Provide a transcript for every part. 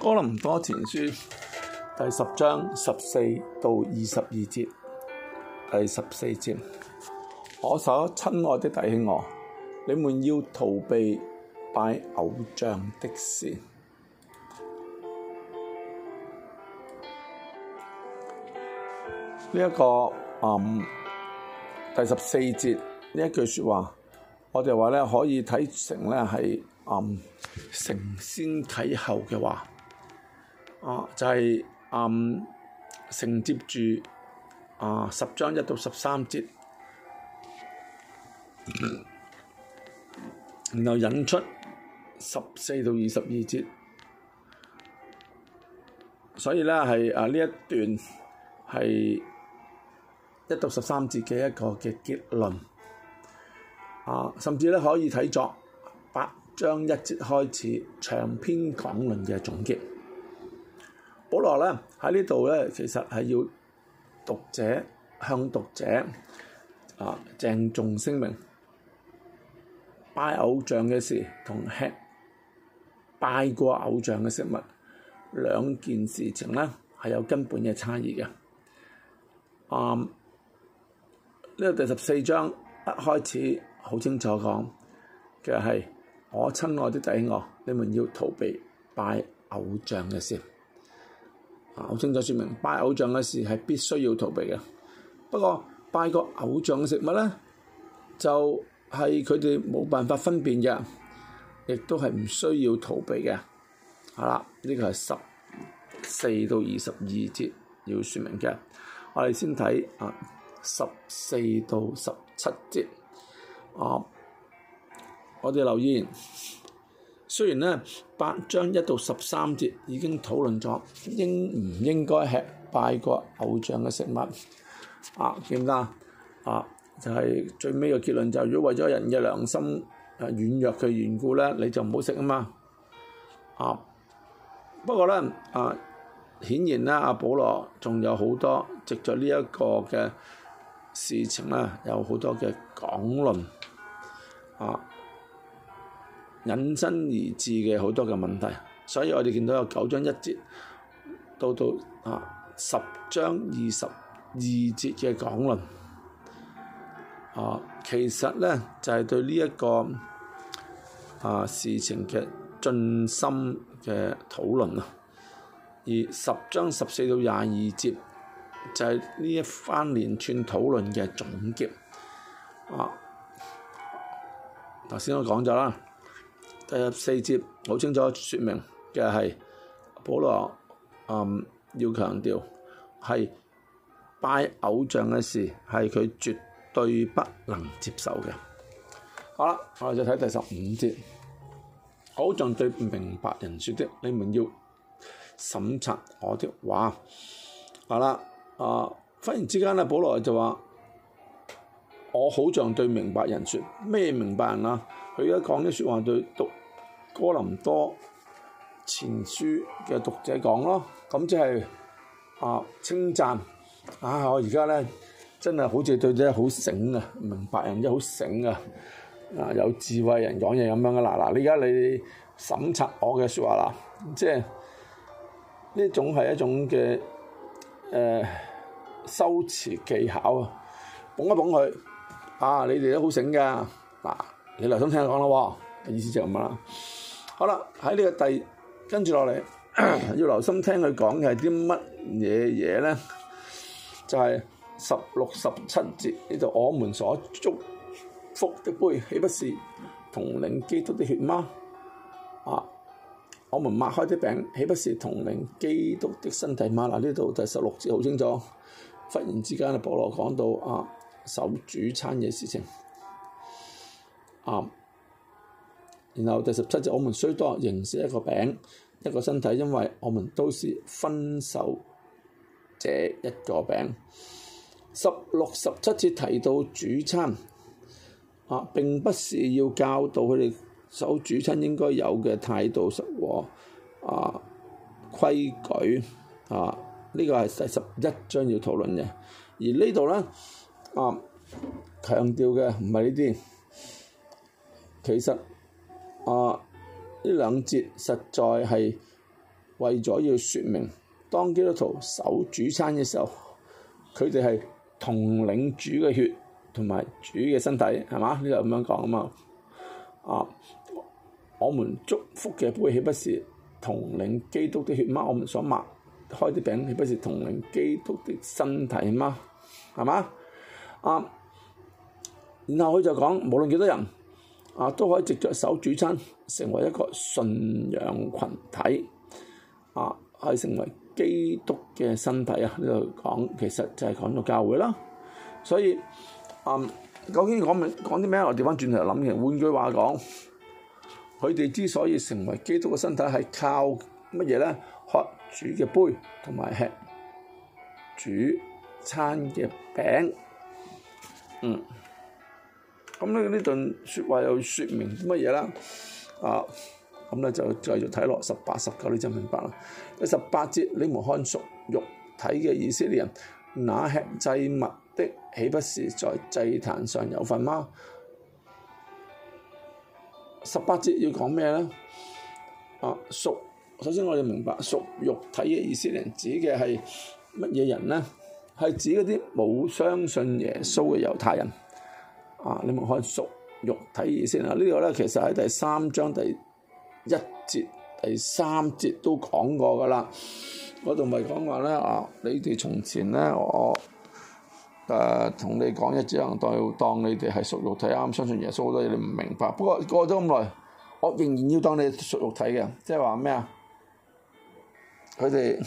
哥林多前書第10章14到22節，第14節，我所親愛的弟兄我，你們要逃避拜偶像的事。呢一個第14節呢一句説話，我哋話咧可以睇成咧係承先啟後嘅話，就係、承接住10章1到13節，然後引出14到22節，所以咧係呢一段係1到13節嘅一個嘅結論，甚至咧可以睇作8章1節開始長篇講論嘅總結。保羅咧喺呢度咧，其實係要向讀者鄭重聲明，拜偶像嘅事同吃拜過偶像嘅食物兩件事情咧係有根本嘅差異嘅。呢個第14章一開始好清楚講嘅係，我親愛的弟兄我，你們要逃避拜偶像嘅事。好清楚説明拜偶像嘅事係必須要逃避嘅。不過拜過偶像嘅食物咧，就係佢哋冇辦法分辨嘅，亦都係唔需要逃避嘅。係啦，呢個係14到22節要説明嘅。我哋先睇14到17節。我哋留意，雖然咧8章1到13節已經討論咗應唔應該吃拜過偶像嘅食物，記唔得就係最尾嘅結論就係，如果為咗人嘅良心軟弱嘅緣故咧，你就唔好食啊嘛。不過咧顯然咧保羅仲有好多藉著呢一個嘅事情咧，有好多嘅講論，引申而至嘅好多嘅問題，所以我哋見到有9章1節到10章22節嘅講論，其實咧就係對呢一個事情嘅盡心嘅討論啊，而10章14到22節就係呢一番連串討論嘅總結。頭先我講咗啦，第14節好清楚説明嘅係保羅要強調係拜偶像嘅事係佢絕對不能接受嘅。好啦，我哋就睇第15節，好像對明白人說的，你們要審察我的話。好啦。忽然之間咧，保羅就話：我好像對明白人說，咩明白人啊？佢而家講啲説話對讀哥林多前書嘅讀者講咯，咁即係稱讚我而家咧真係好似對啲好醒啊，明白人即係好醒啊，有智慧人講嘢咁樣噶啦。而家你審察我嘅説話啦，即係呢種係一種嘅修辭技巧啊，捧一捧佢，你哋都好醒㗎，你留心聽佢講咯喎，意思就係咁啦。好啦，喺呢個跟住落嚟，要留心聽佢講嘅係啲乜嘢咧？就係16、17節呢度，我們所祝福的杯，豈不是同領基督的血嗎？我們擘開的餅，豈不是同領基督的身體嗎？呢度第16節好清楚。忽然之間，保羅講到守主餐嘅事情。然後第17節，我們雖多，仍是一個餅，一個身體，因為我們都是分受這一個餅。16、17節提到主餐，並不是要教導佢哋守主餐應該有嘅態度和規矩。呢個係第11章要討論嘅，而呢度咧強調嘅唔係呢啲，其實呢兩節實在係為咗要説明，當基督徒守主餐嘅時候，佢哋係同領主嘅血同埋主嘅身體，係嘛？呢度咁樣講啊嘛。我們祝福嘅杯豈不是同領基督的血嗎？我們所擘開的餅豈不是同領基督的身體嗎？係嘛？然後佢就講，無論幾多人都可以藉著守主餐成為一個信仰群體，係成為基督嘅身體啊！呢度講其實就係講到教會啦。所以究竟講啲咩？我調翻轉頭諗嘅，換句話講，佢哋之所以成為基督嘅身體，係靠乜嘢咧？喝主嘅杯同埋吃主餐嘅餅。咁呢段説話又説明乜嘢啦？咁咧就繼續睇落18、19，你就明白啦。第18節，你們看屬肉體嘅以色列人，那吃祭物的，豈不是在祭壇上有份嗎？18節要講咩咧？首先我哋明白屬肉體嘅以色列人指嘅係乜嘢人咧？係指嗰啲冇相信耶穌嘅猶太人。你們看屬肉體以色列人，呢個咧其實喺第3章第1節、第3節都講過噶啦。嗰度咪講話咧你哋從前咧，我同你講只能當你哋係屬肉體，啱相信耶穌好多嘢你唔明白。不過過咗咁耐，我仍然要當你屬肉體嘅，即係話咩啊？佢哋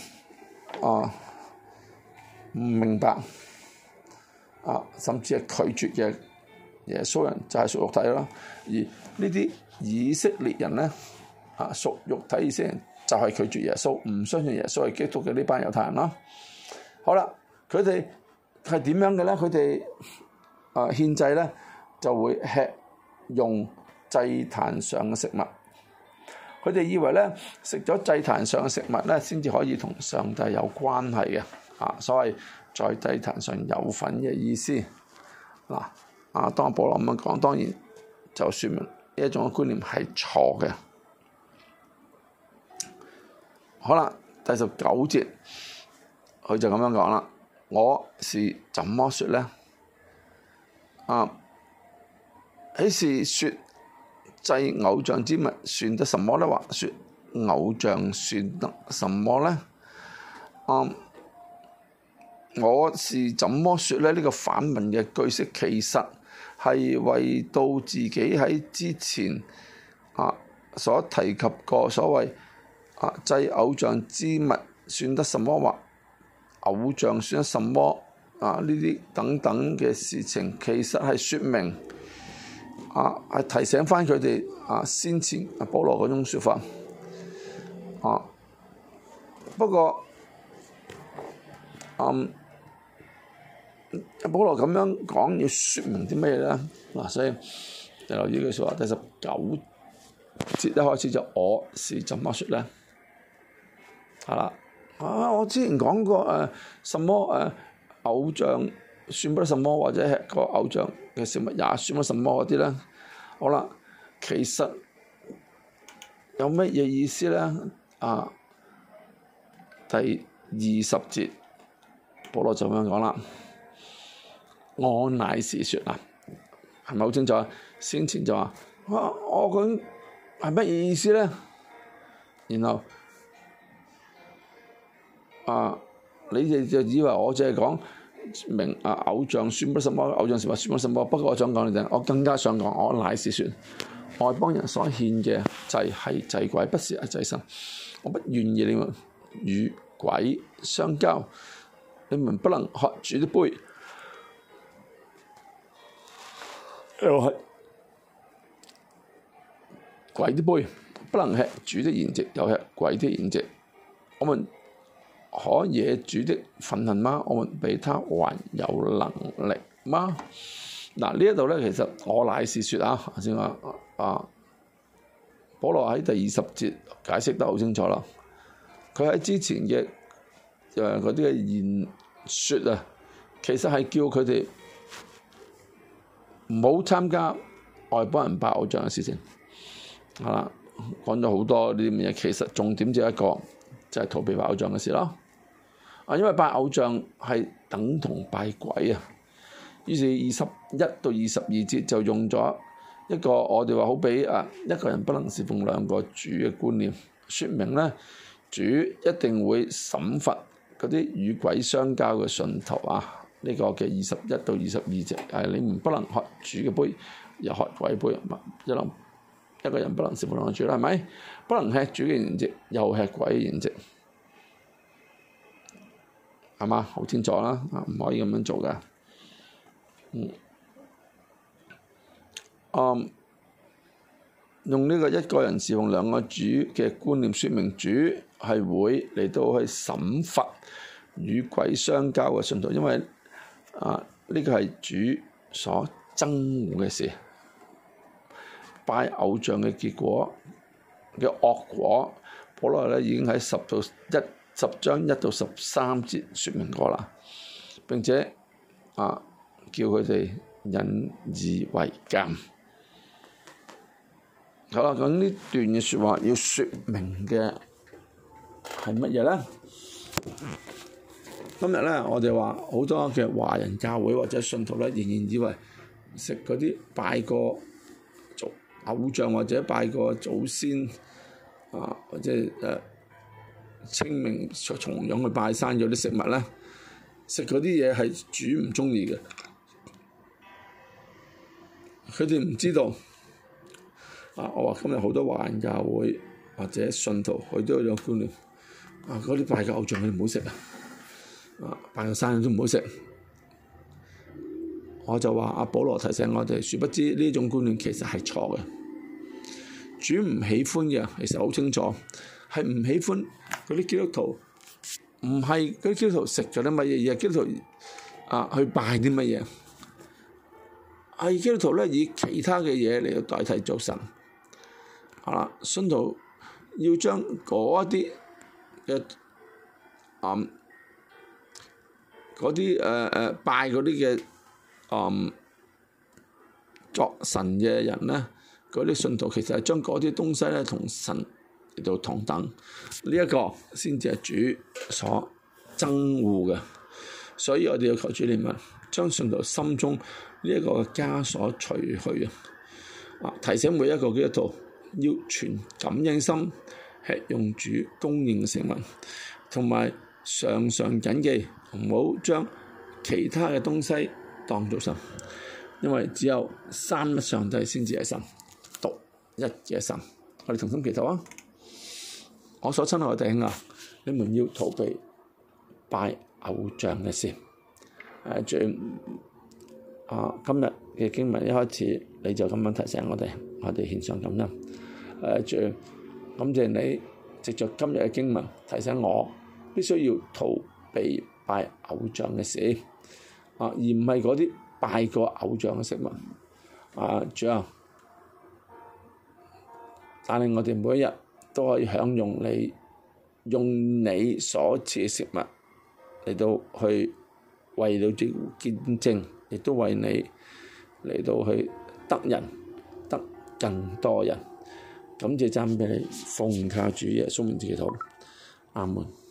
唔明白甚至係拒絕嘅耶穌人就係屬肉體啦。而呢啲以色列人咧屬肉體以色列人就係拒絕耶穌，唔相信耶穌係基督嘅呢班猶太人啦。好啦，佢哋係點樣嘅咧？佢哋獻祭咧就會吃用祭壇上嘅食物。佢哋以為咧食咗祭壇上嘅食物咧，先至可以同上帝有關係嘅。所謂在祭壇上有份嘅意思。當保羅咁樣講，當然就説明呢一種嘅觀念係錯嘅。好啦，第19節佢就咁樣講啦。我是怎麼説咧？豈是説祭偶像之物算得什麼咧？或説偶像算得什麼咧？我是怎麼説咧？呢個反問嘅句式其實係為到自己喺之前所提及過所謂祭偶像之物算得什麼，或偶像算得什麼呢啲等等嘅事情，其實係説明係提醒翻佢哋先前保羅嗰種説法。不過保羅咁樣講要説明啲咩咧？所以就留意呢句説話，第19節一開始就我是怎麼説咧？係啦，我之前講過什麼偶像算不得什麼，或者係個偶像嘅食物也算不得什麼嗰啲咧。好啦，其實有乜嘢意思咧？第20節保羅就咁樣講啦。我乃是説係咪好清楚啊？先前就話我講係乜嘢意思咧？然後你哋就以為我淨係講明偶像算不什麼，偶像是話算不什麼。不過我想講你哋，我更加想講，我乃是説外邦人所獻嘅祭係祭鬼，不是祭神。我不願意你們與鬼相交，你們不能喝主的杯，又係鬼的杯，不能吃主的筵席，又吃鬼的筵席。我們可惹主的憤恨嗎？我們比他還有能力嗎？呢一度咧，其實我乃是説先話保羅喺第20節解釋得好清楚啦。佢喺之前嘅嗰啲嘅言説其實係叫佢哋唔好參加外邦人拜偶像嘅事情。講咗好多呢啲嘢，其實重點只係一個， 就係逃避拜偶像嘅事咯。因為拜偶像係等同拜鬼啊。於是21到22節就用咗一個我哋話好比一個人不能侍奉兩個主嘅觀念，説明咧主一定會審罰嗰啲與鬼相交嘅信徒啊。呢個嘅21到22節你唔不能喝主嘅杯，又喝鬼杯，一個人不能侍奉兩個主啦，係咪？不能吃主嘅筵席，又吃鬼嘅筵席，係嘛？好清楚啦，唔可以咁樣做㗎。用呢個一個人侍奉兩個主嘅觀念，説明主係會嚟到去審罰與鬼相交嘅信徒，因為呢個係主所憎惡嘅事。拜偶像嘅結果嘅惡果，保羅咧已經喺10章1到13節説明過啦，並且叫佢哋引以為鑑。好啦，咁呢段嘅説話要説明嘅係乜嘢咧？今日咧，我哋話好多嘅華人教會或者信徒咧，仍然以為食嗰啲拜過偶像或者拜過祖先或者清明重陽去拜山嗰啲食物咧，食嗰啲嘢係主唔中意嘅。佢哋唔知道我話今日好多華人教會或者信徒，佢都有觀念嗰啲拜嘅偶像佢哋唔好食拜個山都唔好食。我就話保羅提醒我哋，殊不知呢種觀念其實係錯嘅。主唔喜歡嘅，其實好清楚，係唔喜歡嗰啲基督徒，唔係嗰啲基督徒食咗啲乜嘢，而係基督徒去拜啲乜嘢，係基督徒咧以其他嘅嘢嚟到代替做神。信徒要將嗰啲嘅嗰啲拜嗰啲嘅作神嘅人咧，嗰啲信徒其實係將嗰啲東西咧同神嚟到同等，呢一個先至係主所憎惡嘅。所以我哋要求主憐憫，將信徒心中呢一個枷鎖除去提醒每一個基督徒要存感恩心，吃用主供應嘅食物，同埋常常謹記唔好將其他嘅東西當做神，因為只有三一上帝先至係神，獨一嘅神。我哋同心祈禱啊！我所親愛嘅弟兄你們要逃避拜偶像嘅事。主今日嘅經文一開始你就咁樣提醒我哋獻上感恩。主感謝你藉着今日嘅經文提醒我必須要逃避拜偶像嘅事，而唔係嗰啲拜過偶像嘅食物。主帶領我哋每一日都可以享用你用你所賜嘅食物嚟到去為到主見證，亦都為你嚟到去得人得更多人。感謝讚美你，奉靠主耶穌名字祈禱，阿門。